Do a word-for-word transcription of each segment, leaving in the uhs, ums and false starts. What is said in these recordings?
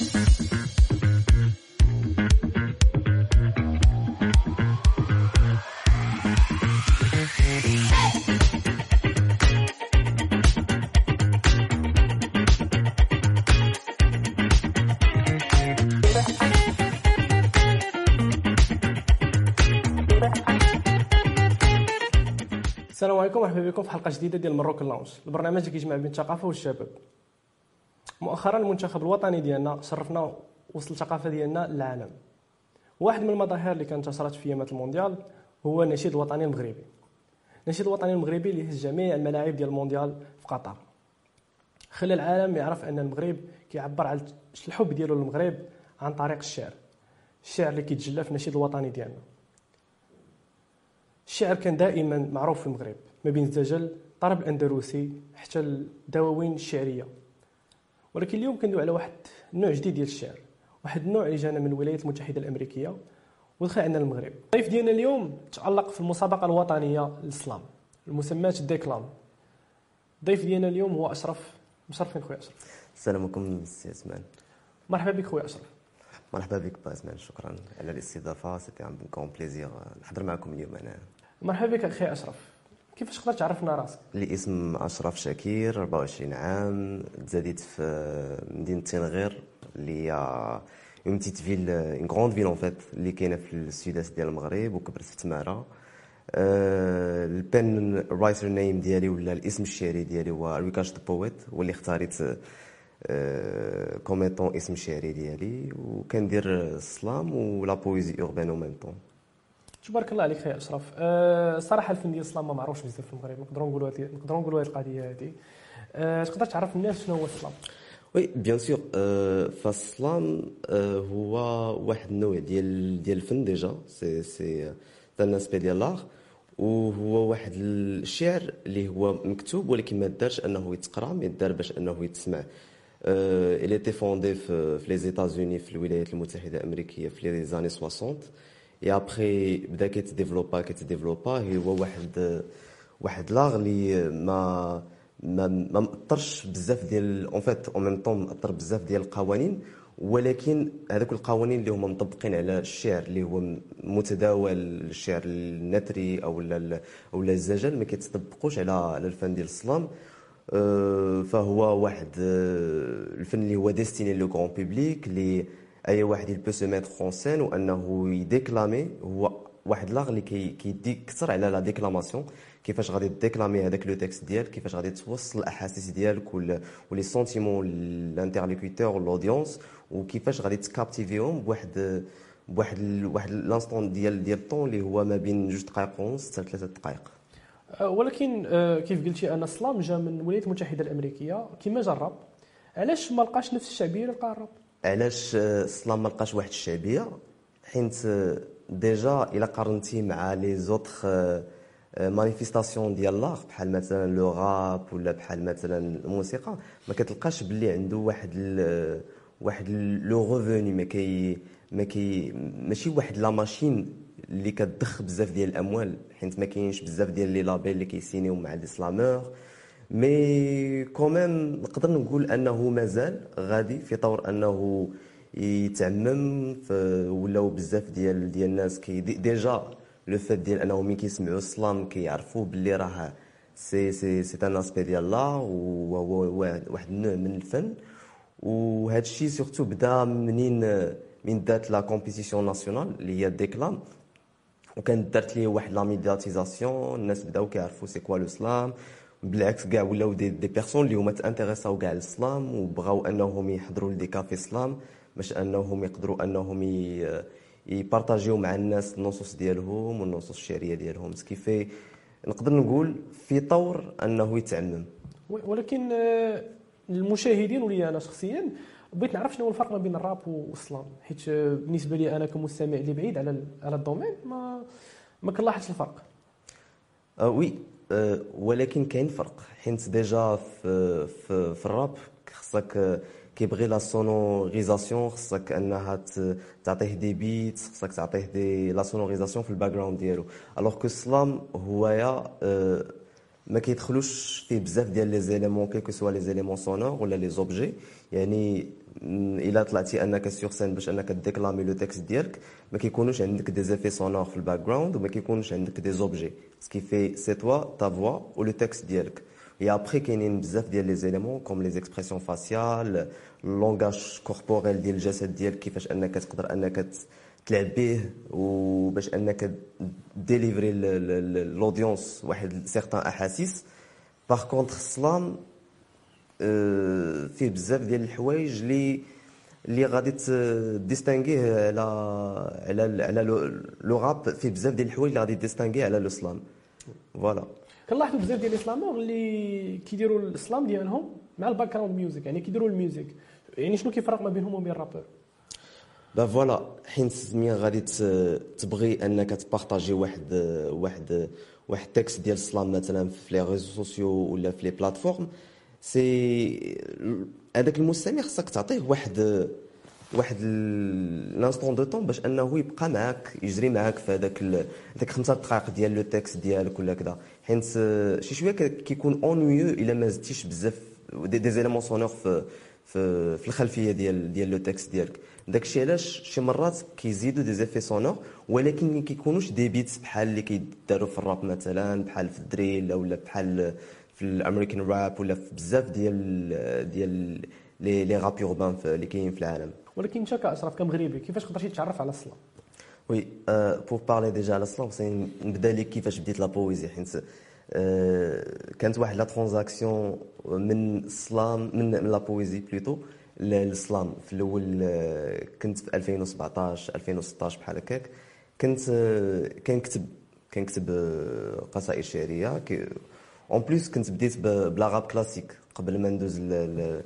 السلام عليكم، مرحبا بكم في حلقه جديده ديال مروك لاونج، البرنامج اللي كيجمع بين الثقافه والشباب. مؤخرا المنتخب الوطني ديالنا شرفنا وسط الثقافه ديالنا للعالم. واحد من المظاهر اللي كانت انتشرت في ايامات المونديال هو النشيد الوطني المغربي. النشيد الوطني المغربي اللي هز جميع الملاعب ديال المونديال في قطر، خلى العالم يعرف ان المغرب كيعبر على الحب ديالو للمغرب عن طريق الشعر. الشعر اللي كيتجلى في النشيد الوطني ديالنا. الشعر كان دائما معروف في المغرب، ما بين الزجل، الطرب الاندلسي، حتى الدواوين الشعريه. ولكن اليوم كندوي على واحد النوع جديد ديال الشعر، واحد النوع اللي جانا من الولايات المتحده الامريكيه ودخل عندنا المغرب. الضيف ديالنا اليوم تالق في المسابقه الوطنيه للسلام المسماه ديكلام. الضيف ديالنا اليوم هو اشرف. مشرفين خويا اشرف. السلام عليكم سي عثمان. مرحبا بك خويا اشرف. مرحبا بك با عثمان، شكرا على الاستضافه، سيتي ان كون بليزير نحضر معكم اليوم. انا مرحبا بك اخي اشرف. كيفاش تقدر تعرفنا راسك؟ الاسم اشرف شاكير، أربعة وعشرين عام، تزاديت في مدينه تنغير اللي هي اون بتيت فيل، اون غروند فيل اون فيت اللي كاينه في السوداست ديال المغرب، وكبرت في تماره. أه البن رايتر نيم ديالي ولا الاسم الشعري ديالي هو ريكاش ذا بويت، هو اللي اختاريت أه كوميتون اسم الشعري ديالي، وكندير السلام ولا بويزي اوربان او ميم طون. تبارك الله عليك خويا اشرف. أه صراحه الفن ديال السلام ما معروفش بزاف في المغرب، نقدروا نقولوا هذه نقدروا نقولوا هذه القضيه هذه. أه تقدر تعرف الناس شنو هو السلام؟ وي بيان سور. فالسلام هو واحد النوع ديال ديال الفن ديجا، سي سي ان اسبي ديال لار، وهو واحد الشعر اللي هو مكتوب ولكن ما دارش انه يتقرا، ما دار باش انه يتسمع. il était fondé في في les États-Unis في الولايات المتحده الامريكيه في لي زاني ستين، et après بدا كيتديفلوبا كيتديفلوبا هو واحد واحد لاغ اللي ما ما ما مأثرش بزاف ديال اون فيت اون ميم طون مأثر بزاف ديال القوانين، ولكن هذوك القوانين اللي هما مطبقين على الشعر اللي هو متداول، الشعر النثري او لا او لا الزجل، ما كيتطبقوش على على الفن ديال السلام. فهو واحد الفن اللي هو ديستيني لو غران بوبليك، اللي اي واحد يل بو سو ميتر اون سين وانه يديكلامي. هو واحد لاغ اللي كيدي كثر على لا ديكلاماسيون، كيفاش غادي ديكلامي هذاك لو تكست ديالك، كيفاش غادي توصل الاحاسيس ديالك ولي سونتيمون للانترلوكوتور والاودينس، وكيفاش غادي تكابتيفيهم بواحد بواحد واحد لانستون ديال ديال الطون اللي هو ما بين جوج دقائق ونص حتى ثلاثه دقائق. ولكن كيف قلتي ان السلام جا من الولايات المتحده الامريكيه كما جا الراب، علاش ما لقاش نفس الشعبيه اللي لقى الراب؟ علاش السلام ما لقاش واحد الشعبيه؟ حيت ديجا الا قارنتي مع لي زوطخ مانيفيستاسيون ديال لاغ بحال مثلا لو راب ولا بحال مثلا الموسيقى، ما كتلقاش باللي عنده واحد ال واحد لو ريفوني، ما كي ما كي ماشي واحد لا ماشين اللي كتضخ بزاف ديال الاموال، حيت ما كاينش بزاف ديال لي لابيل اللي كيسينيو مع دي سلامور. مي كوميم نقدر نقول انه مازال غادي في طور انه يتعمم، ولاو بزاف ديال ديال الناس كي ديجا لو فات ديال انهم ملي كيسمعوا السلام كيعرفوا باللي راه سي سي سي ان اسبي ديال لا، وهو واحد النوع من الفن. وهذا الشيء سورتو بدا منين من دات لا كومبيتيسيون ناسيونال اللي هي ديكلام، وكانت دارت ليه واحد لا ميدياتيزاسيون، الناس بداو كيعرفوا سي كوا لو سلام. بالعكس كاع ولاو دي, دي بيرسون اللي هما تانتيريساو كاع السلام وبغاو انهم يحضروا لدي كافي سلام باش انهم يقدروا انهم يبارطاجيو مع الناس النصوص ديالهم والنصوص الشعريه ديالهم، سكيفي نقدر نقول في طور انه يتعمم. ولكن المشاهدين ولي انا شخصيا بغيت نعرف شنو هو الفرق ما بين الراب والسلام، حيت بالنسبه لي انا كمستمع اللي بعيد على على الدومين ما ما كنلاحظش الفرق. اه وي أه ولكن كاين فرق، حيت ديجا في في, في الراب خصك كيبغي لا سونوريزاسيون، خصك انها تعطيه دي بيت، خصك تعطيه دي لا سونوريزاسيون في الباك جراوند ديالو. الوغ كو السلام هو يا أه ما كيدخلوش فيه بزاف ديال لي زيليمون كيلكو سوا لي زيليمون سونور ولا لي زوبجي. يعني م، الا طلعتي انك سيغ سين باش انك ديكلامي لو تكست ديالك، ما كيكونوش عندك دي زيفي سونور في الباك جراوند وما كيكونوش عندك دي زوبجي. سكي في سي توا تا فوا و لو تكست ديالك. Et après كاينين بزاف ديال لي زيليمون كوم لي زيكسبرسيون فاسيال، اللونغاج كوربوريل ديال الجسد ديالك، كيفاش انك تقدر انك تلعب به وباش انك ديليفري لودونس واحد سيغتان احاسيس. باغ كونطخ السلام آه، فيه بزاف ديال الحوايج اللي اللي غادي تديستانغيه على على على لو راب. فيه بزاف ديال الحوايج اللي غادي تديستانغيه على لو سلام. فوالا كنلاحظوا بزاف ديال الاسلامور اللي كيديروا الاسلام ديالهم مع الباك جراوند ميوزك، يعني كيديروا الميوزك. يعني شنو كيفرق ما بينهم وبين الرابور؟ با فوالا، حيت ملي غادي تبغي انك تبارطاجي واحد واحد واحد تكست ديال السلام مثلا في لي ريزو سوسيو ولا في لي بلاتفورم، سي هذاك المستمع خصك تعطيه واحد واحد لانستون دو طون باش انه يبقى معاك، يجري معاك في هذاك ال- هذاك خمسة دقائق ديال لو تكست ديالك ولا كذا. حيت شي شويه كيكون اونيو الا ما زدتيش بزاف دي, دي زيليمون سونور في في في الخلفيه ديال ديال لو تكست ديالك. داكشي علاش شي مرات كيزيدوا دي زيفي سونور ولكن ما كيكونوش دي بيتس بحال اللي كيداروا في الراب مثلا، بحال في الدريل ولا بحال في الامريكان راب ولا في بزاف ديال ديال لي لي راب اوربان اللي كاينين في العالم. ولكن انت كاشرف كمغربي كيفاش تقدر تتعرف على السلام؟ وي بور بارلي ديجا على السلام خصني نبدا لك كيفاش بديت لا بويزي. حيت آه، كانت واحد لا ترانزاكسيون من السلام من من لا بويزي بلوتو للسلام. في الاول آه، كنت في ألفين وسبعطاش ألفين وستطاش بحال هكاك. كنت آه، كنكتب كنكتب آه، قصائد شعريه. اون بليس كنت بديت ب- بلا راب كلاسيك قبل ما ندوز ل ل-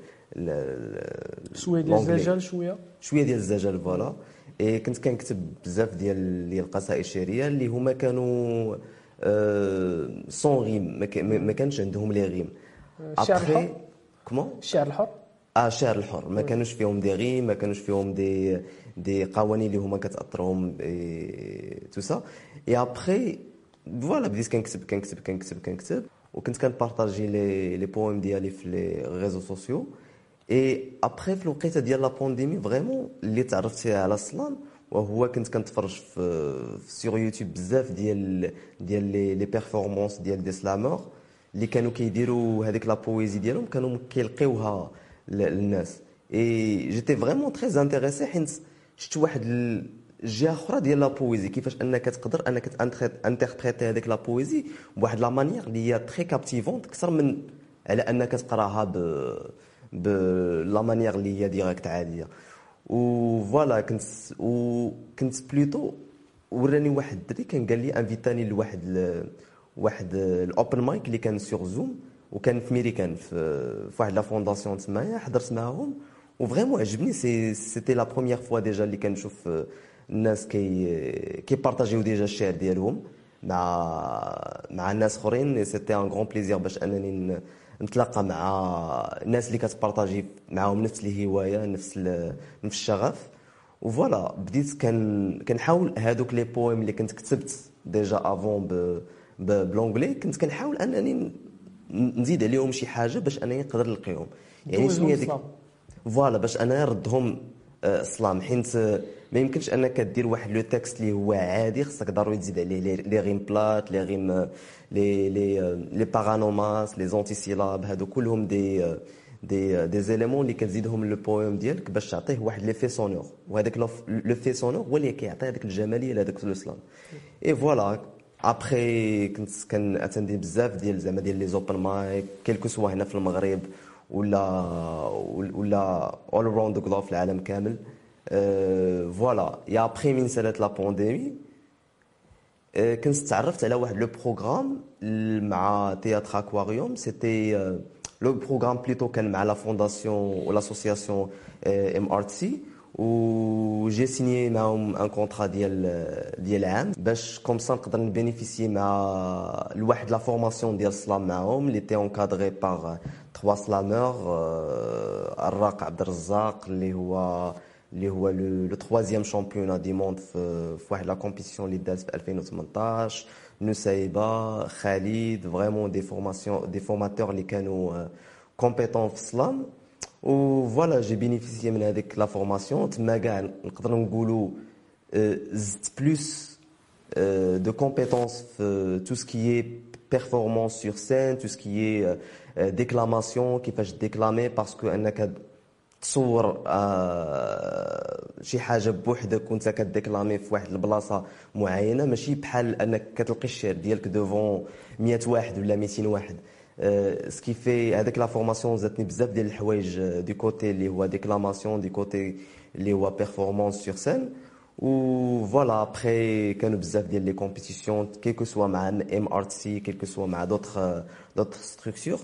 ل- شويه ديال لونجلي. الزجاج شويه. شويه ديال الزجاج فوالا. اي كنت كنكتب بزاف ديال ديال القصائد الشعريه اللي هما كانوا آه سون ريم، ما كا- ما ما كانش عندهم لي ريم. الشعر الحر. ابخي كومون الشعر الحر. اه الشعر الحر ما كانوش فيهم دي ريم، ما كانوش فيهم دي دي قوانين اللي هما كتاثرهم تو سا. اي ابخي فوالا بديت كنكتب كنكتب كنكتب كنكتب وكنت كنبارطاجي لي لي بويم ديالي في لي ريزو سوسيو. اي ابخي في الوقيته ديال لا بانديمي فريمون اللي تعرفت فيها على السلام، وهو كنت كنتفرج في سور يوتيوب بزاف ديال ديال لي لي بيرفورمانس ديال دي سلامور اللي كانوا كيديروا هذيك لا بويزي ديالهم، كانوا كيلقيوها ل- للناس. اي جيتي فريمون تري انتريسي حيت شفت واحد الجهه اخرى ديال لا بويزي، كيفاش انك تقدر انك انتربريتي هذيك لا بويزي بواحد لا مانيير اللي هي تري كابتيفونت اكثر من على انك تقراها ب ب لا مانيير اللي هي ديريكت عاديه. و فوالا كنت وكنت بلوتو وراني واحد الدري كان قال لي انفيتاني لواحد ال... واحد الاوبن مايك اللي كان سور زوم وكان في ميريكان في في واحد لا فونداسيون تمايا. حضرت معاهم وفريمون عجبني. سي سيتي لا بروميير فوا ديجا اللي كنشوف الناس كي كي بارطاجيو ديجا الشعر ديالهم مع مع الناس اخرين. سيتي ان غون بليزير باش انني ن- نتلاقى مع الناس اللي كتبارطاجي معاهم نفس الهوايه، نفس ال- نفس الشغف. وفوالا بديت كان كنحاول هادوك لي بويم اللي كنت كتبت ديجا افون ب ب- بلونجلي، كنت كنحاول انني ن- نزيد عليهم شي حاجه باش انني نقدر نلقيهم. يعني دوزهم شنو هي ديك السلام. فوالا باش انا نردهم آه، السلام. حيت آه، ما يمكنش انك دير واحد لو تكست اللي هو عادي، خصك ضروري تزيد عليه لي لي ريم بلات، لي ريم آه، لي لي آه، لي بارانوماس، لي زونتي سيلاب. هادو كلهم دي آه، دي آه، دي زيليمون اللي كتزيدهم لو بويم ديالك باش تعطيه واحد لي في سونور. وهذاك لو في سونور هو اللي كيعطي هذيك الجماليه لهذاك لو سلام. اي فوالا ابخي كنت كناتندي بزاف ديال زعما ديال لي زوبن مايك كيلكو سوا هنا في المغرب ولا ولا اول اراوند ذا جلوب في العالم كامل. أه فوالا يا ابخي من سالات لا بانديمي أه كنت تعرفت على واحد لو بروغرام مع تياتر اكواريوم. سيتي أه لو بروغرام بليتو كان مع لا فونداسيون و لاسوسياسيون ام ار تي سي، وجي سيني معاهم ان كونطرا ديال ديال عام باش كوم سا نقدر نبينيفيسي مع لواحد لا فورماسيون ديال السلام معاهم اللي تي اونكادري باغ تخوا سلامور. الراق عبد الرزاق اللي هو اللي هو لو troisième championnat du monde في في واحد لا كومبيتيسيون اللي دازت في ألفين وثمنطاش. نسيبه خالد فريمون دي فورماسيون دي فورماتور اللي كانوا كومبيتون في السلام. و فوالا جي بينيفيسيي من هذيك لا فورماسيون. تما كاع نقدر نقولوا زدت بلوس de compétences euh, tout ce qui est performance sur scène, tout ce qui est euh, déclamation, كيفاش déclamer parce que انك تصور آه شي حاجه بوحدك كنت كديكلامي في واحد البلاصه معينه، ماشي بحال انك كتلقي الشعر ديالك دوفون مية واحد ولا ميتين واحد. آه سكي في هذاك لا فورماسيون زادتني بزاف ديال الحوايج دي كوتي اللي هو ديكلاماسيون، دي كوتي اللي هو بيرفورمانس سور سين. و فوالا ابري كانوا بزاف ديال لي كومبيتيسيون كيكو سوا مع ام ار تي سي كيكو سوا مع دوطخ دوطخ ستركتور.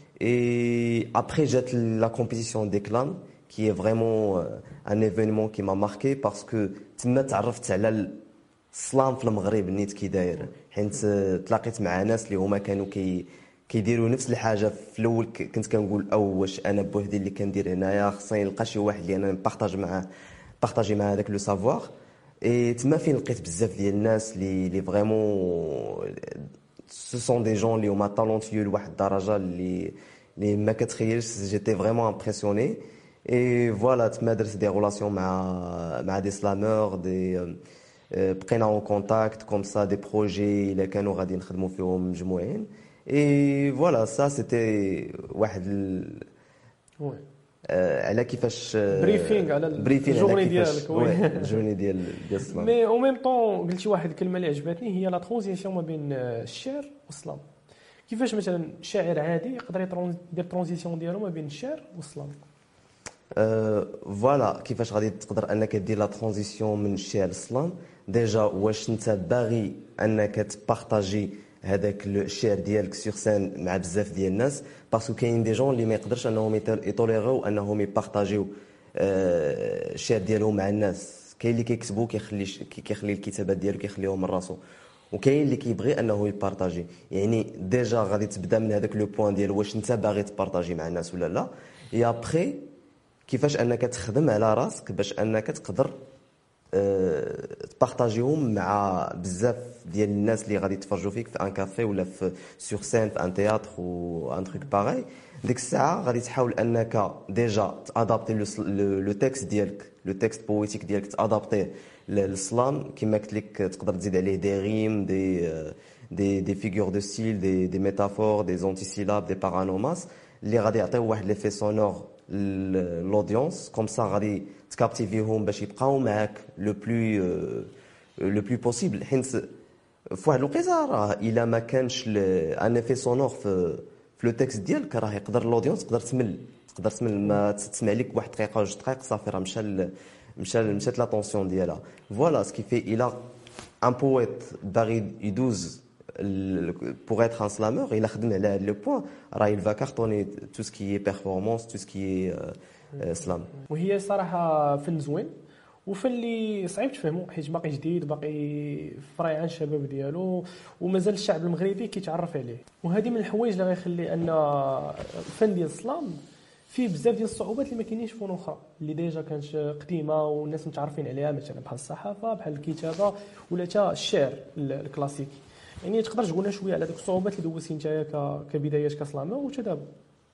Et après, j'ai la compétition d'éclat, qui est vraiment un événement qui m'a marqué parce que تما تعرفت على السلام في المغرب نيت كي داير، حيت تلاقيت مع ناس اللي هما كانوا كي كيديروا نفس الحاجه. في الاول كنت كنقول او واش انا بوحدي اللي كندير هنايا، خصني نلقى شي واحد اللي انا نبارطاج معاه بارطاجي معاه هذاك لو سافوار. اي تما فين لقيت بزاف ديال الناس اللي اللي فريمون ce sont des gens اللي هما talentueux لواحد الدرجه اللي اللي ما كتخيلش. جيتي فريمون امبرسيوني. اي فوالا تما درت دي ريلاسيون مع مع دي سلامور دي بقينا اون كونتاكت كوم سا دي بروجي اللي كانوا غادي نخدموا فيهم مجموعين. اي فوالا سا سيتي واحد ال... وي على كيفاش بريفينغ على الجورني ديالك. وي الجورني ديال ديال السلام. مي او ميم طون قلتي واحد الكلمه اللي عجبتني هي لا ترانزيسيون ما بين الشعر والسلام. كيفاش مثلا شاعر عادي يقدر يدير ترانزيسيون ديالو ما بين الشعر والسلام؟ أه فوالا كيفاش غادي تقدر انك دير لا ترانزيسيون من الشعر للسلام. ديجا واش انت باغي انك تبارطاجي هذاك الشعر ديالك سور سين مع بزاف ديال الناس، باسكو كاين دي جون اللي ما يقدرش انهم يطوليريو انهم يبارطاجيو الشعر ديالهم مع الناس. كاين اللي كيكتبوا كيخلي كيخلي الكتابات ديالو كيخليهم من راسو، وكاين اللي كيبغي انه يبارطاجي. يعني ديجا غادي تبدا من هذاك لو بوين ديال واش انت باغي تبارطاجي مع الناس ولا لا. اي ابري كيفاش انك تخدم على راسك باش انك تقدر أه تبارطاجيهم مع بزاف ديال الناس اللي غادي يتفرجوا فيك في ان كافي ولا في سور سين في ان تياتر و ان تروك باغي. ديك الساعه غادي تحاول انك ديجا تادابتي لو تكست ديالك، لو تكست بويتيك ديالك تادابتيه للسلام. كما قلت لك تقدر تزيد عليه دي ريم، دي دي دي فيغور دو ستيل، دي دي ميتافور، دي زونتيسيلاب، دي بارانوماس اللي غادي يعطيو واحد ليفي سونور لودونس. كوم سا غادي تكابتيفيهم باش يبقاو معاك لو بلو لو بلو بوسيبل. حيت في واحد الوقيته راه الا ما كانش ان افي سونور في في لو تكست ديالك راه يقدر لودونس تقدر تمل تقدر تمل ما تسمع لك واحد دقيقه وجوج دقائق صافي راه مشى مشى مشات لاتونسيون ديالها. فوالا سكي في الا ان بويت باغي يدوز pour être un slameur il خدم على هذا لو بوين راه il va cartonner tout ce qui est performance tout ce qui est slam. وهي صراحه فن زوين وفن اللي صعيب تفهمو حيت باقي جديد باقي فري عن الشباب ديالو ومازال الشعب المغربي كيتعرف عليه. وهذه من الحوايج اللي غيخلي ان الفن ديال السلام فيه بزاف ديال الصعوبات اللي ما كاينينش في فنون اخرى اللي ديجا كانت قديمه والناس متعرفين عليها، مثلا بحال الصحافه بحال الكتابه ولا حتى الشعر الكلاسيكي. يعني تقدر تقول لنا شويه على ديك الصعوبات اللي دوزتي نتايا كبدايات كسلامه وحتى دابا؟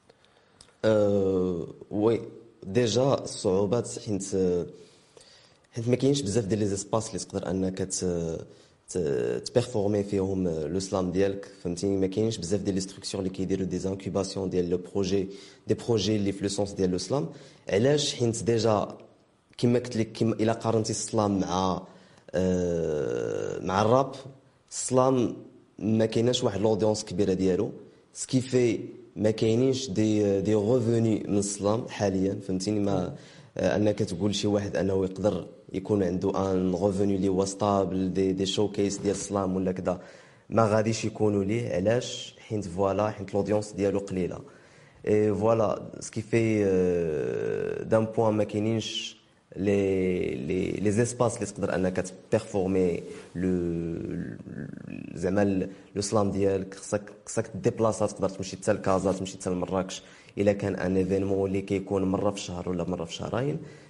أه وي ديجا الصعوبات حيت حيت ما كاينش بزاف ديال لي زيسباس اللي تقدر انك تبيرفورمي فيهم لو سلام ديالك، فهمتيني. ما كاينش بزاف ديال لي ستركتور اللي كيديروا دي زانكوباسيون ديال لو بروجي دي بروجي اللي في لو سونس ديال لو سلام. علاش؟ حيت ديجا كما قلت لك كما الا قارنتي السلام مع أه مع الراب، السلام ما كايناش واحد لودونس كبيره ديالو سكي في ما كاينينش دي دي ريفوني من السلام حاليا، فهمتيني. ما انك تقول شي واحد انه يقدر يكون عنده ان ريفوني اللي هو ستابل دي دي شوكيس ديال السلام ولا كذا ما غاديش يكونوا ليه. علاش؟ حيت فوالا حيت لودونس ديالو قليله. اي فوالا سكي في دان بوين ما كاينينش لي لي لي زيسباس اللي تقدر انك تبيرفورمي لو زعما لو سلام ديالك. خصك خصك ديبلاصا، تقدر تمشي حتى لكازا تمشي حتى لمراكش الا كان ان ايفينمون اللي كيكون مره في الشهر ولا مره في شهرين.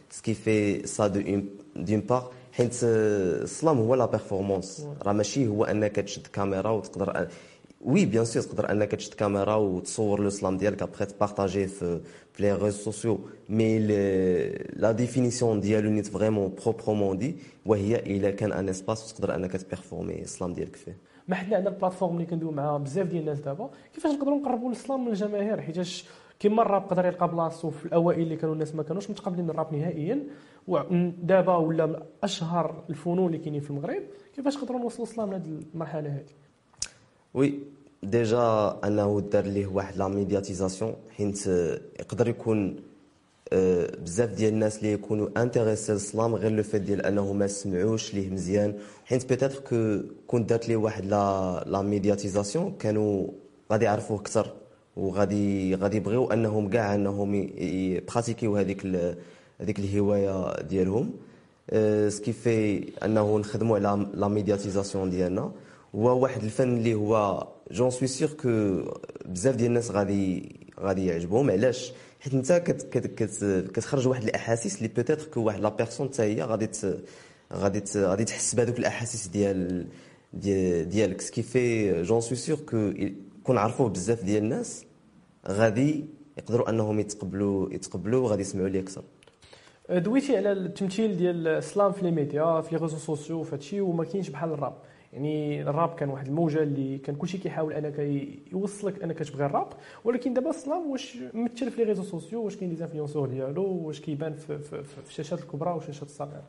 سكي في سا دو دون بار حيت السلام هو لا بيرفورمانس راه ماشي هو انك تشد كاميرا وتقدر وي بيان سور تقدر انك تشد كاميرا وتصور لو سلام ديالك ابخي تبارطاجيه في في لي ريزو سوسيو مي لا ديفينيسيون ديالو نيت فريمون بروبرومون دي وهي الا كان ان اسباس تقدر انك تبيرفورمي السلام ديالك فيه. ما حنا عندنا البلاتفورم اللي كندويو مع بزاف ديال الناس دابا كيفاش نقدروا نقربوا الاسلام من الجماهير حيتاش كيما الراب قدر يلقى بلاصتو في الاوائل اللي كانوا الناس ما كانوش متقبلين الراب نهائيا ودابا ولا من اشهر الفنون اللي كاينين في المغرب كيفاش نقدروا نوصلوا الاسلام لهذه المرحله هذه؟ وي ديجا انه دار ليه واحد لا ميدياتيزاسيون حيت يقدر يكون بزاف ديال الناس اللي يكونوا انتريسي للسلام غير لو فيت ديال انه ما سمعوش ليه مزيان حيت بيتيتر كو كنت دارت ليه واحد لا لا ميدياتيزاسيون كانوا غادي يعرفوه اكثر وغادي غادي يبغيو انهم كاع انهم يبراتيكيو هذيك هذيك الهوايه ديالهم سكي في انه نخدموا على لا ميدياتيزاسيون ديالنا هو واحد الفن اللي هو جون سوي سيغ كو بزاف ديال الناس غادي غادي يعجبهم علاش حيت انت كت كت كت كتخرج واحد الاحاسيس اللي بوتيتر كو واحد لا بيرسون حتى هي غادي غادي غادي تحس بهذوك الاحاسيس ديال ديالك سكي في جون سوي سيغ كو كون عرفوه بزاف ديال الناس غادي يقدروا انهم يتقبلوا يتقبلوا وغادي يسمعوا ليه اكثر. دويتي على التمثيل ديال الاسلام في لي ميديا في لي ريزو سوسيو فهادشي وما كاينش بحال الراب يعني الراب كان واحد الموجه اللي كان كلشي كيحاول انك يوصلك انك تبغي الراب ولكن دابا السلام واش ممثل في لي ريزو سوسيو واش كاين دي انفلونسور ديالو واش كيبان في, في, في الشاشات الكبرى والشاشات الصغيره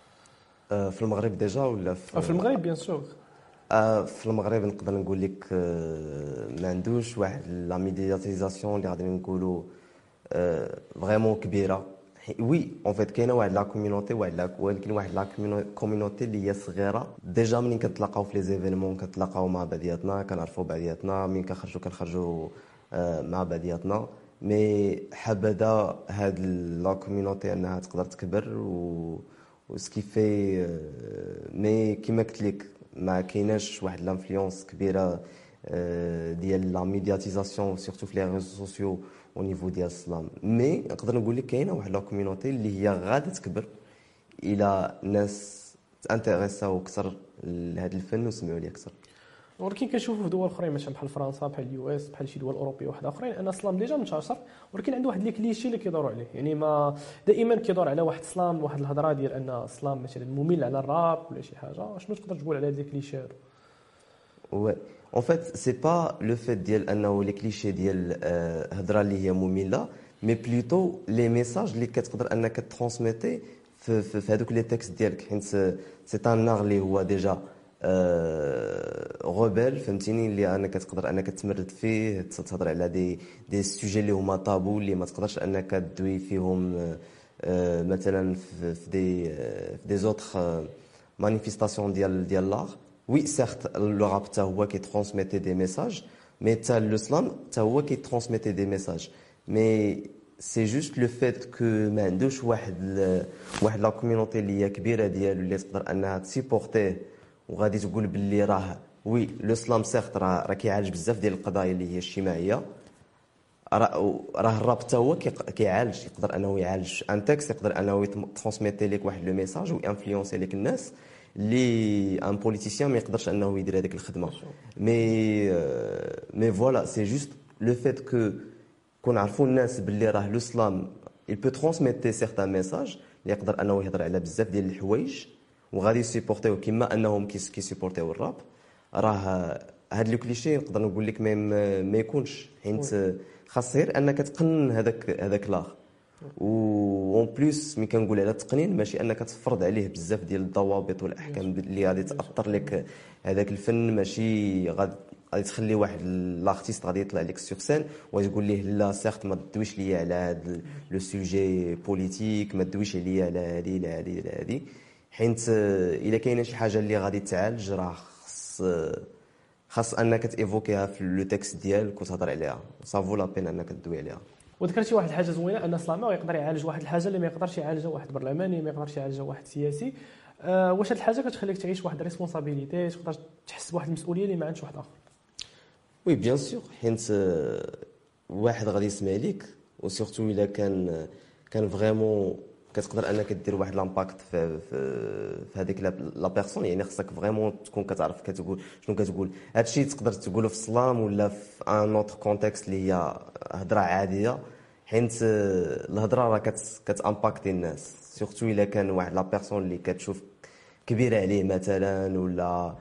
في المغرب ديجا ولا في, في المغرب بيان سور في المغرب نقدر نقول لك ما عندوش واحد لا ميدياتيزاسيون اللي غادي نقولوا فريمون كبيره وي اون فيت كاينه واحد لا كوميونيتي واحد لا ولكن واحد لا كوميونيتي اللي هي صغيره ديجا منين كنتلاقاو في لي زيفينمون كنتلاقاو مع بعضياتنا كنعرفوا بعضياتنا منين كنخرجوا كنخرجوا مع بعضياتنا مي حبذا هاد لا كوميونيتي انها تقدر تكبر و وسكي في مي كيما قلت لك ما كايناش واحد لانفلونس كبيره ديال لا ميدياتيزاسيون سورتو في لي ريزو سوسيو او نيفو ديال السلام مي نقدر نقول لك كاينه واحد لا كوميونيتي اللي هي غادي تكبر الى ناس تانتيريساو اكثر لهذا الفن وسمعوا ليه اكثر. ولكن كنشوفوا في دول اخرين مثلا بحال فرنسا بحال اليو اس بحال شي دول اوروبيه واحد اخرين ان السلام ديجا منتشر ولكن عنده واحد لي كليشي اللي كيدوروا عليه يعني ما دائما كيدور على واحد السلام واحد الهضره ديال ان السلام مثلا ممل على الراب ولا شي حاجه شنو تقدر تقول على هاد لي كليشي هادو؟ وي اون فيت سي با لو فيت ديال انه لي كليشي ديال هضره اللي هي ممله مي بلوتو لي ميساج اللي كتقدر انك ترانسميتي في في هذوك لي تكست ديالك حيت سي ان نار اللي هو ديجا غوبيل فهمتيني اللي انك تقدر انك تمرد فيه تهضر على دي دي سوجي اللي هما طابو اللي ما تقدرش انك تدوي فيهم مثلا في دي في دي زوتر مانيفيستاسيون ديال ديال لار وي سيرت لو راب حتى هو كي ترانسميتي دي ميساج مي حتى لو سلام حتى هو كي ترانسميتي دي ميساج مي سي جوست لو فيت كو ما عندوش واحد واحد لا كوميونيتي اللي هي كبيره ديالو اللي تقدر انها تسيبورتيه وغادي تقول باللي راه وي لو سلام سيرت راه راه كيعالج بزاف ديال القضايا اللي هي الاجتماعيه راه الراب حتى هو كيعالج يقدر انه يعالج ان تكست يقدر انه ترانسميتي لك واحد لو ميساج وانفلونسي لك الناس اللي ان بوليتيسيان ما يقدرش انه يدير هذيك الخدمه مي مي فوالا سي جوست لو فيت كو كون عرفوا الناس باللي راه لو سلام il peut transmettre certains messages اللي يقدر انه يهضر على بزاف ديال الحوايج وغادي يسيبورتيو كيما انهم كيسيبورتيو الراب راه هاد لو كليشي نقدر نقول لك ما ما يكونش حيت خاص غير انك تقنن هذاك هذاك لاغ و اون بليس ملي كنقول على التقنين ماشي انك تفرض عليه بزاف ديال الضوابط والاحكام اللي غادي تاثر لك هذاك الفن ماشي غادي غادي تخلي واحد لارتيست غادي يطلع لك سور سين وتقول ليه لا سيرت ما تدويش ليا على هذا لو سوجي بوليتيك ما تدويش عليا على هذه على هذه على هذه حيت الا كاينه شي حاجه اللي غادي تعالج راه خاص خاص انك تيفوكيها في لو تكست ديالك وتهضر عليها صافو لا بين انك تدوي عليها. وذكرتي واحد الحاجه زوينه ان السلام يقدر يعالج واحد الحاجه اللي ما يقدرش يعالجها واحد برلماني ما يقدرش يعالجها واحد سياسي. أه واش هاد الحاجه كتخليك تعيش واحد ريسبونسابيلتي تقدر تحس بواحد المسؤوليه اللي ما عندش واحد اخر؟ وي بيان سور حيت واحد غادي يسمع ليك وسورتو الا كان كان فريمون كتقدر انك دير واحد لامباكت في في, في هذيك لا بيرسون. يعني خصك فريمون تكون كتعرف كتقول شنو كتقول. هادشي تقدر تقوله في السلام ولا في ان اوتر كونتكست اللي هي هضره عاديه، حيت الهضره راه كت كتامباكتي الناس، سورتو الا كان واحد لا بيرسون اللي كتشوف كبيره عليه مثلا، ولا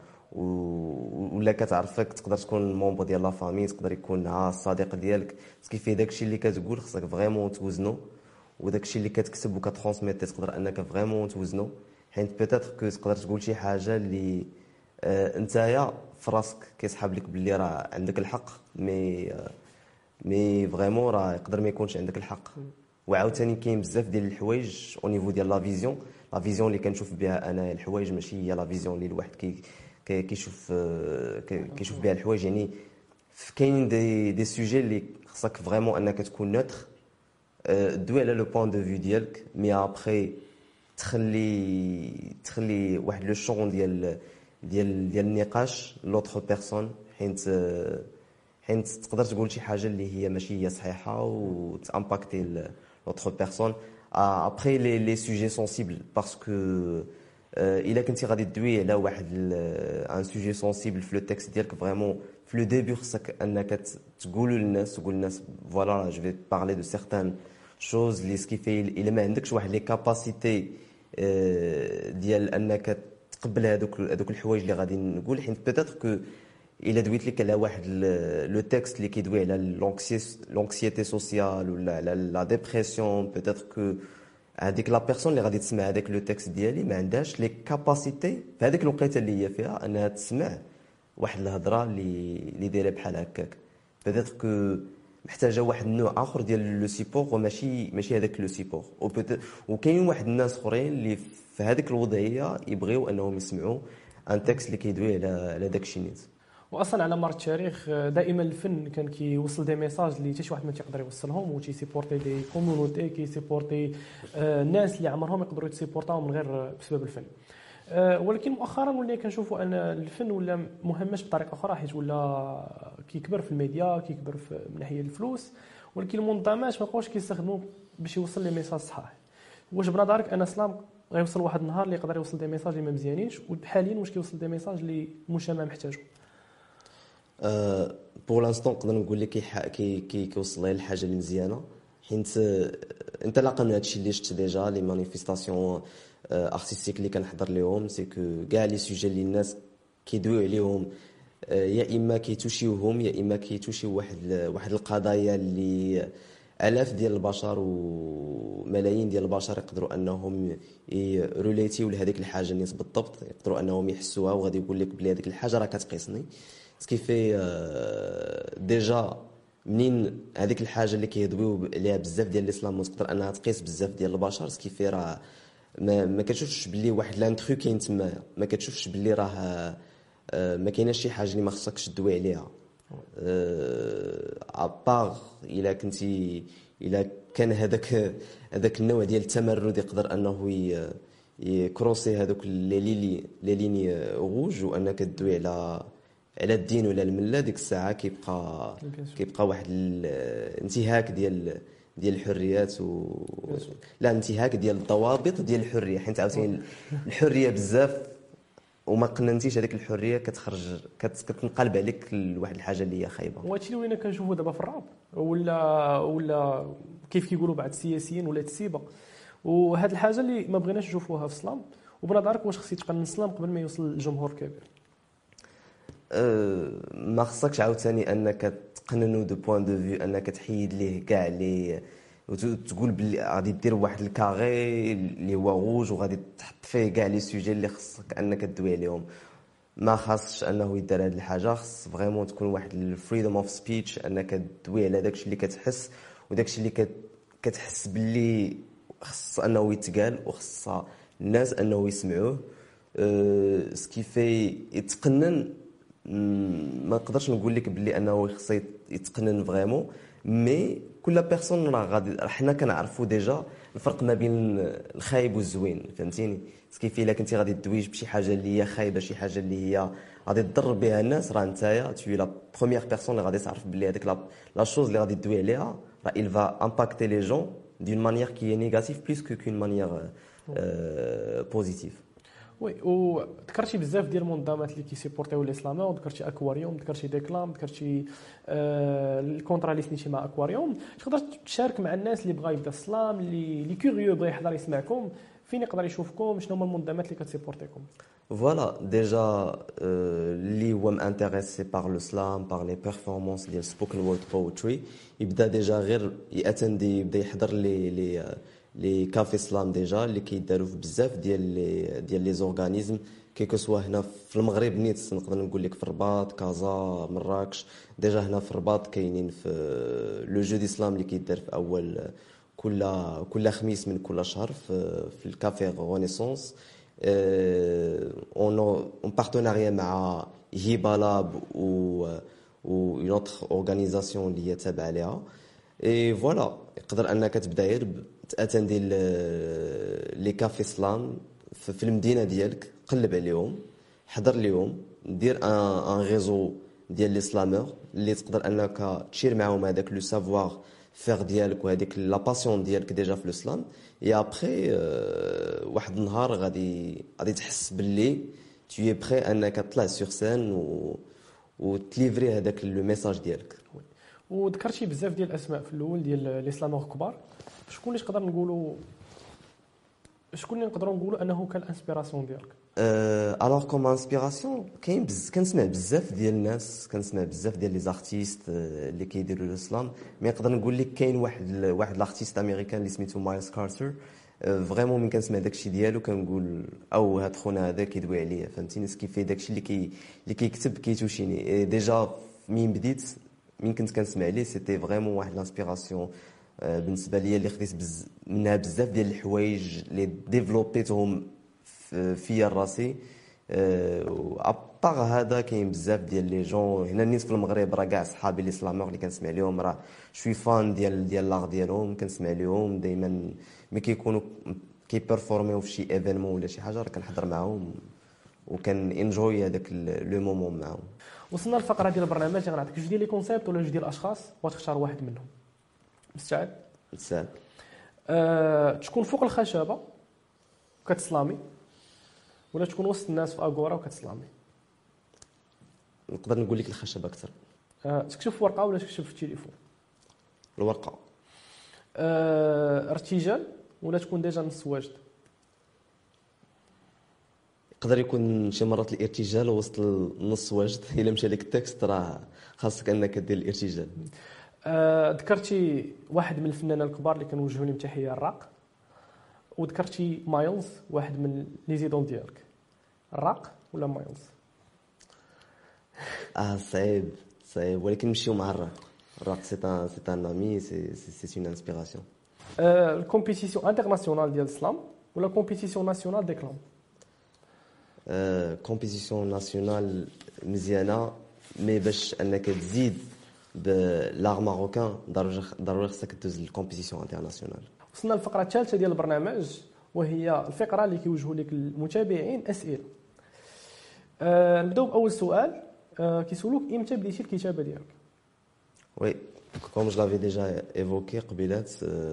ولا كتعرفك، تقدر تكون مونبر ديال لا فامي، تقدر يكون ها الصديق ديالك. كيف داكشي اللي كتقول خصك فريمون توزنو، وداكشي اللي كتكتب وكترونسميتي تقدر انك فريمون توزنو، حيت بيتيتر كو تقدر تقول شي حاجه اللي آه نتايا في راسك كيسحاب لك باللي راه عندك الحق، مي آه مي فريمون راه يقدر ما يكونش عندك الحق. وعاوتاني كاين بزاف ديال الحوايج او نيفو ديال لا فيزيون. لا فيزيون اللي كنشوف بها انا الحوايج ماشي هي لا فيزيون اللي الواحد كي كيشوف كيشوف بها الحوايج. يعني كاين دي دي سوجي اللي خصك فريمون انك تكون نوتر، دوي على لو بوين دو في ديالك، مي ابخي تخلي تخلي واحد لو شون ديال ديال ديال النقاش لوطخ بيرسون، حيت حيت تقدر تقول شي حاجه اللي هي ماشي هي صحيحه وتامباكتي لوطخ بيرسون. ابخي لي لي سوجي سونسيبل، باسكو الا كنتي غادي تدوي على واحد ان سوجي سونسيبل في لو تكست ديالك، فريمون في لو ديبي خصك انك تقول للناس تقول للناس فوالا جو في بارلي دو سيغتان شوز اللي سكيفي الا ما عندكش واحد لي كاباسيتي ديال انك تقبل هذوك هذوك الحوايج اللي غادي نقول. حيت بيتيتر كو الا دويت لك على واحد لو تكست اللي كيدوي على لونكسيتي سوسيال ولا على لا ديبرسيون، بيتيتر كو هذيك لا بيرسون اللي غادي تسمع هذاك لو تكست ديالي ما عندهاش لي كاباسيتي في هذيك الوقيته اللي هي فيها انها تسمع واحد الهضره اللي اللي دايره بحال هكاك. بيتيتر كو محتاجه واحد النوع اخر ديال لو سيبور وماشي ماشي هذاك لو سيبور. وكاين واحد الناس اخرين اللي في هذيك الوضعيه يبغيو انهم يسمعوا ان تكست اللي كيدوي على على داك الشيء نيت. واصلا على مر التاريخ دائما الفن كان كيوصل دي ميساج اللي حتى شي واحد ما تيقدر يوصلهم، وتيسيبورتي دي كومونيتي، كيسيبورتي الناس اللي عمرهم يقدروا يسيبورتاو من غير بسبب الفن. ولكن مؤخرا ولينا كنشوفوا ان الفن ولا مهمش بطريقه اخرى، حيت ولا كيكبر في الميديا، كيكبر في من ناحيه الفلوس، ولكن المنظمات ما بقاوش كيستخدموا باش يوصل لي ميساج صحاح. واش بنظرك ان سلام غيوصل واحد النهار اللي يقدر يوصل دي ميساج اللي ما مزيانينش، وحاليا واش كيوصل دي ميساج اللي المجتمع محتاجو؟ أه بور لانستون نقدر نقول لك كي كي كيوصل لي الحاجه اللي مزيانه، حيت انت لاقى من هادشي اللي شفت ديجا لي مانيفيستاسيون ارتستيك اللي كنحضر ليهم، سي كو كاع لي سوجي اللي الناس كيدويو عليهم يا اما كيتوشيوهم يا اما كيتوشيو واحد واحد القضايا اللي الاف ديال البشر وملايين ديال البشر يقدروا انهم يروليتيو لهذيك الحاجه نيت بالضبط، يقدروا انهم يحسوها وغادي يقول لك بلي هذيك الحاجه راه كتقيسني. سكيفي ديجا منين هذيك الحاجه اللي كيهضبوا عليها بزاف ديال الاسلام تقدر انها تقيس بزاف ديال البشر، سكيفي راه ما, ما كتشوفش باللي واحد لانترو كاين تما، ما كتشوفش باللي راه ما كايناش شي حاجه اللي ما خصكش تدوي عليها. ابار الا كنتي الا كان هذاك هذاك النوع ديال التمرد يقدر انه يكروسي هذوك لي لي لي ليني روج، وانك تدوي على على الدين ولا المله، ديك الساعه كيبقى كيبقى واحد الانتهاك ديال ديال الحريات و لا انتهاك ديال الضوابط ديال الحريه، حيت عاوتاني الحريه بزاف وما قننتيش هذيك الحريه كتخرج كتنقلب عليك لواحد الحاجه اللي هي خايبه. وهادشي اللي ولينا كنشوفوا دابا في الراب ولا ولا كيف كيقولوا بعض السياسيين ولا السيبه، وهاد الحاجه اللي ما بغيناش نشوفوها في السلام. وبنظرك واش خص يتقنن السلام قبل ما يوصل للجمهور كبير؟ أه ما خصكش عاوتاني انك تقننو دو بوين دو فيو انك تحيد ليه كاع لي وتقول بلي غادي دير واحد الكاري اللي هو روج وغادي تحط فيه كاع لي سوجي اللي خصك انك تدوي عليهم. ما خاصش انه يدير هذه الحاجه، خص فريمون تكون واحد الفريدوم اوف سبيتش انك تدوي على داكشي اللي كتحس وداكشي اللي كتحس باللي خص انه يتقال وخص الناس انه يسمعوه. أه سكيفي يتقنن ما نقدرش نقول لك بلي انه خص يتقنن فريمون، مي كل بيرسون راه غادي حنا كنعرفوا ديجا الفرق ما بين الخايب والزوين، فهمتيني؟ كيف الا كنتي غادي تدويج بشي حاجه اللي هي خايبه، شي حاجه اللي هي غادي تضر بها الناس، راه نتايا توي لا بروميير بيرسون اللي غادي تعرف بلي هذيك لا شوز اللي غادي تدوي عليها راه il va impacter les gens d'une manière qui est négative plus que qu'une manière euh, positive. وي وذكرتي بزاف ديال المنظمات اللي كيسيبورتيو الاسلام، وذكرتي اكواريوم، ذكرتي ديكلام، ذكرتي آه الكونترا اللي سنيتي مع اكواريوم. تقدر تشارك مع الناس اللي بغا يبدا السلام، اللي اللي كيوريو بغا يحضر يسمعكم، فين يقدر يشوفكم، شنو هما المنظمات اللي كتسيبورتيكم؟ Voilà, déjà, اللي هو m'intéressé par le slam, par les performances ديال spoken word poetry، يبدا ديجا غير ياتندي، يبدا يحضر لي لي لي كافي سلام ديجا اللي كيداروا في بزاف ديال لي ديال لي زورغانيزم كيكو سوا هنا في المغرب نيت، نقدر نقول لك في الرباط، كازا، مراكش. ديجا هنا في الرباط كاينين في لو جو دي سلام اللي كيدار في اول كل كل خميس من كل شهر في في الكافي رينيسانس، اون اون بارتناريا مع هيبا لاب و و اون اوتر اورغانيزاسيون اللي هي تابعه ليها. اي فوالا، يقدر انك تبدا غير تاتندي لي كافي سلام في المدينه ديالك، قلب عليهم، حضر ليهم، دير ان ان ريزو ديال لي سلامور اللي تقدر انك تشير معاهم هذاك لو سافوار فير ديالك وهذيك لا باسيون ديالك ديجا في الاسلام. اي ابري واحد النهار غادي غادي تحس باللي tu es prêt انك تطلع سور سين و وتليفري هذاك لو ميساج ديالك. وذكرتي بزاف ديال الاسماء في الاول ديال لي سلامور كبار، شكون اللي تقدر نقولوا شكون اللي نقدروا نقولوا انه كان الانسبيراسيون ديالك؟ الوغ كوم انسبيراسيون كاين بز... كنسمع بزاف ديال الناس، كنسمع بزاف ديال لي زارتيست اللي كيديروا الاسلام، مي نقدر نقول لك كاين واحد ال... واحد الارتيست امريكان اللي سميتو مايلز كارتر. فريمون من كنسمع داكشي ديالو كنقول او هاد خونا هذا كيدوي عليا، فهمتيني؟ سكي في داكشي اللي كي اللي كيكتب كيتوشيني. ديجا من بديت من كنت كنسمع ليه سيتي فريمون واحد لانسبيراسيون بالنسبه ليا اللي خديت بز... منها بزاف ديال الحوايج اللي ديفلوبيتهم فيا راسي. ابار هذا كاين بزاف ديال لي جون هنا نيت في المغرب، راه كاع صحابي لي سلامور اللي كنسمع لهم، راه شوي فان ديال ديال لاغ ديالهم، كنسمع لهم دائما ملي كيكونوا كيبرفورميو في شي ايفينمون ولا شي حاجه، راه كنحضر معاهم وكان انجوي هذاك لو مومون معاهم. وصلنا للفقره ديال البرنامج، غنعطيك جوج ديال لي كونسيبت ولا جوج ديال الاشخاص وتختار واحد منهم. مستعد؟ مستعد. أه، تكون فوق الخشبه وكتسلامي، ولا تكون وسط الناس في اغورا وكتسلامي؟ نقدر نقول لك الخشبه اكثر. أه، تكتب في ورقه ولا تكتب في التليفون؟ الورقه. أه، ارتجال ولا تكون ديجا نص واجد؟ يقدر يكون شي مرات الارتجال وسط النص واجد، الا مشى لك التكست راه خاصك انك دير الارتجال. أه، ذكرتي واحد من الفنانين الكبار اللي كنوجهوا لهم تحيه، الراق، وذكرتي مايلز واحد من لي زيدون ديالك، الراق ولا مايلز؟ اه صعيب صعيب، ولكن نمشيو مع الراق. الراق سي ان سي ان امي، سي سي اون انسبيراسيون. أه، الكومبيتيسيون انترناسيونال ديال السلام ولا كومبيتيسيون ناسيونال ديكلام؟ أه، كومبيتيسيون ناسيونال مزيانه، مي باش انك تزيد بلاغ ماروكان ضروري ضروري خصك تدوز للكومبيتيسيون انترناسيونال. وصلنا للفقره الثالثه ديال البرنامج، وهي الفقره اللي كيوجهوا لك المتابعين اسئله. أه، نبداو باول سؤال. أه، كيسولوك امتى بديتي الكتابه ديالك؟ وي كوم جو لافي ديجا ايفوكي قبيلات،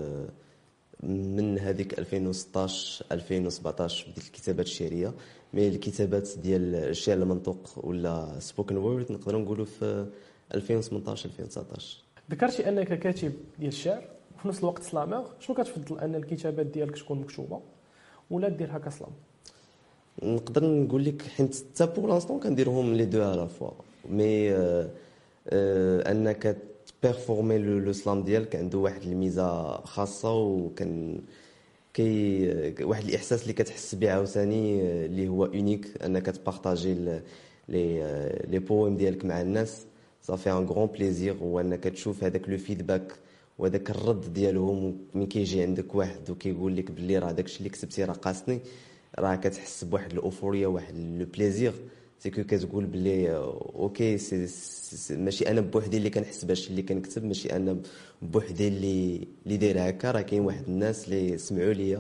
من هذيك ألفين وستطاش ألفين وسبعطاش بديت الكتابات الشعريه، مي الكتابات ديال الشعر المنطوق ولا سبوكن وورد نقدروا نقولوا في ألفين وثمنطاش ألفين وتسعطاش. ذكرتي انك كاتب ديال الشعر وفي نفس الوقت سلامور، شنو كتفضل ان الكتابات ديالك تكون مكتوبه ولا دير هكا سلام؟ نقدر نقول لك حيت حتى بور لانستون كنديرهم لي دو على فوا، مي آه آه انك بيرفورمي لو سلام ديالك عنده واحد الميزه خاصه، وكان كي واحد الاحساس اللي كتحس به عاوتاني اللي هو اونيك، انك تبارطاجي لي لي بويم ديالك مع الناس. صافي ان غران بليزير، وانك تشوف هذاك لو فيدباك وهذاك الرد ديالهم من كيجي عندك واحد وكيقول لك باللي راه داكشي اللي كتبتي راه قاصني، راه كتحس بواحد الاوفوريا، واحد لو بليزير. سي كو كتقول باللي اوكي سي, سي ماشي انا بوحدي اللي كنحس بهادشي اللي كنكتب، ماشي انا بوحدي اللي اللي داير هكا، راه كاين واحد الناس اللي سمعوا ليا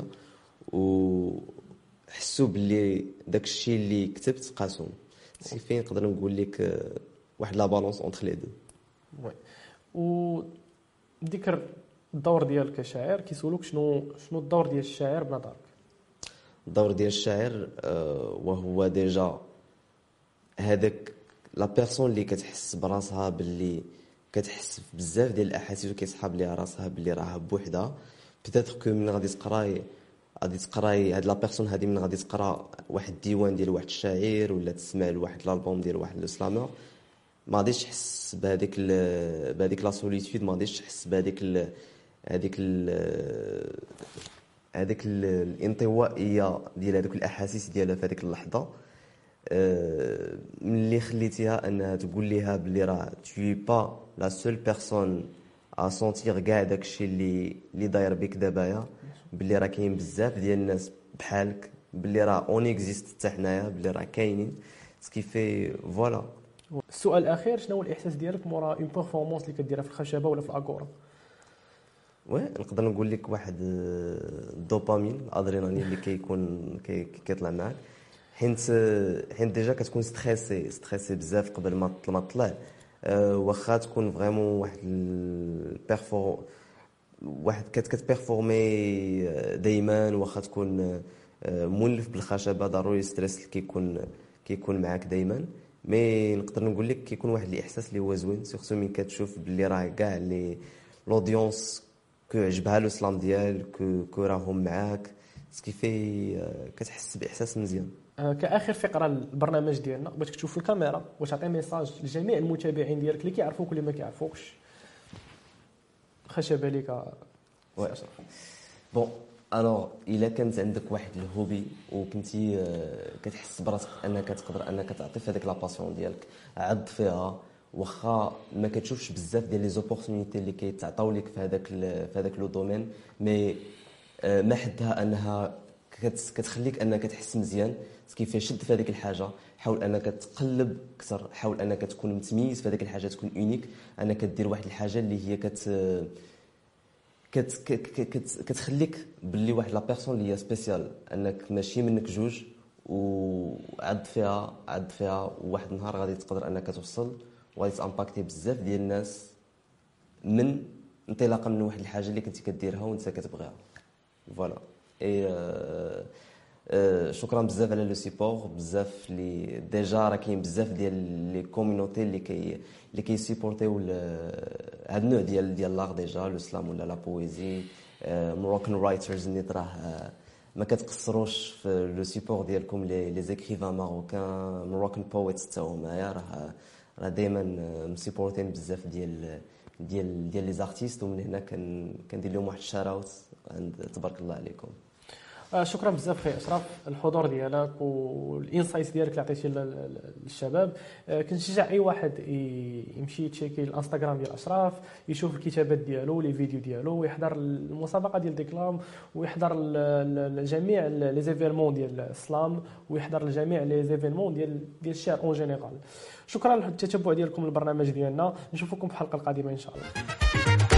وحسوا باللي داكشي اللي كتبت قاسهم. سي فين نقدر نقول لك واحد لا بالونس اونتر لي دو. وي. و ذكر الدور ديالك كشاعر كيسولوك شنو شنو الدور ديال الشاعر بنظرك؟ الدور ديال الشاعر آه، وهو ديجا هذاك لا بيرسون اللي كتحس براسها باللي كتحس بزاف ديال الاحاسيس وكيصحاب ليها راسها باللي راها بوحدها. بيتيتر كو من غادي تقراي غادي تقراي هاد لا بيرسون هادي من غادي تقرا واحد الديوان ديال واحد الشاعر ولا تسمع لواحد الالبوم ديال واحد لو سلامور، ما غاديش تحس بهذيك ال- بهذيك لا سوليتود، ما غاديش تحس بهذيك ال- هذيك ال- هذيك ال- الانطوائيه ديال هذوك الاحاسيس ديالها في هذيك اللحظه. آه، ملي خليتيها انها تقول ليها بلي راه tu es pas la seule personne à sentir كاع داكشي اللي اللي داير بك دابايا، بلي راه كاين بزاف ديال الناس بحالك، بلي راه اون اكزيست حتى حنايا، بلي راه كاينين سكي في فوالا. السؤال الاخير، شنو هو الاحساس ديالك مورا اون بيرفورمانس اللي كديرها في الخشبه ولا في الاكورا؟ وي نقدر نقول لك واحد آه، الدوبامين الادرينالين اللي كيكون كي- كي- كيطلع معاك، حيت حيت ديجا كتكون ستريسي ستريسي بزاف قبل ما ما تطلع. أه واخا تكون فريمون واحد البيرفور واحد كت كتبيرفورمي دائما، واخا تكون أه مولف بالخشبه، ضروري ستريس اللي كيكون كيكون معاك دائما. مي نقدر نقول لك كيكون واحد الاحساس اللي هو زوين، سورتو ملي كتشوف باللي راه كاع لي لودونس كو عجبها لو سلام ديالك، كو كو راهم معاك، سكيفي أه كتحس باحساس مزيان. آه، كاخر فقره البرنامج ديالنا بغيتك تشوف في الكاميرا وتعطي ميساج لجميع المتابعين ديالك اللي كيعرفوك واللي ما كيعرفوكش. خشبه ليك وي بون الوغ الا كانت عندك واحد الهوبي وكنتي آه، كتحس براسك انك تقدر انك تعطي في هذيك لا باسيون ديالك، عض فيها. واخا ما كتشوفش بزاف ديال لي زوبورتونيتي اللي كيتعطاو لك في هذاك ال- في هذاك لو دومين، مي آه، ما حدها انها كت- كتخليك انك تحس مزيان. كيف شد في هذيك الحاجه، حاول انك تقلب اكثر، حاول انك تكون متميز في هذيك الحاجه، تكون اونيك، انك دير واحد الحاجه اللي هي كت كت كت كت كتخليك باللي واحد لا بيرسون اللي هي سبيسيال، انك ماشي منك جوج، وعد فيها عد فيها وواحد النهار غادي تقدر انك توصل وغادي تامباكتي بزاف ديال الناس من انطلاقا من واحد الحاجه اللي كنتي كديرها وانت كتبغيها. فوالا اي آه، آه، شكرا بزاف على لو سيبور، بزاف اللي ديجا راه كاين بزاف ديال لي كوميونيتي اللي كي اللي كيسيبورتيو هاد النوع ديال ديال لاغ، ديجا لو سلام ولا لا بويزي، مروكان رايترز اللي راه آه، ما كتقصروش في لو سيبور ديالكم، لي لي زيكريفان ماروكان مروكان بويتس حتى هما راه راه دائما مسيبورتين بزاف ديال ديال ديال لي زارتيست، ومن هنا كن كندير لهم واحد الشاراوت عند تبارك الله عليكم. آه، شكرا بزاف خي اشرف الحضور ديالك والانسايتس ديالك اللي عطيتي لل- للشباب. آه، كنشجع اي واحد ي- يمشي يتشيكي الانستغرام ديال اشرف، يشوف الكتابات ديالو لي فيديو ديالو، ويحضر المسابقه ديال ديكلام، ويحضر ال- ال- ال- جميع لي زيفيرمون ديال السلام، ويحضر لجميع لي زيفيرمون ديال ديال الشعر اون جينيرال. شكرا للتتبع ديالكم للبرنامج ديالنا، نشوفكم في الحلقه القادمه ان شاء الله.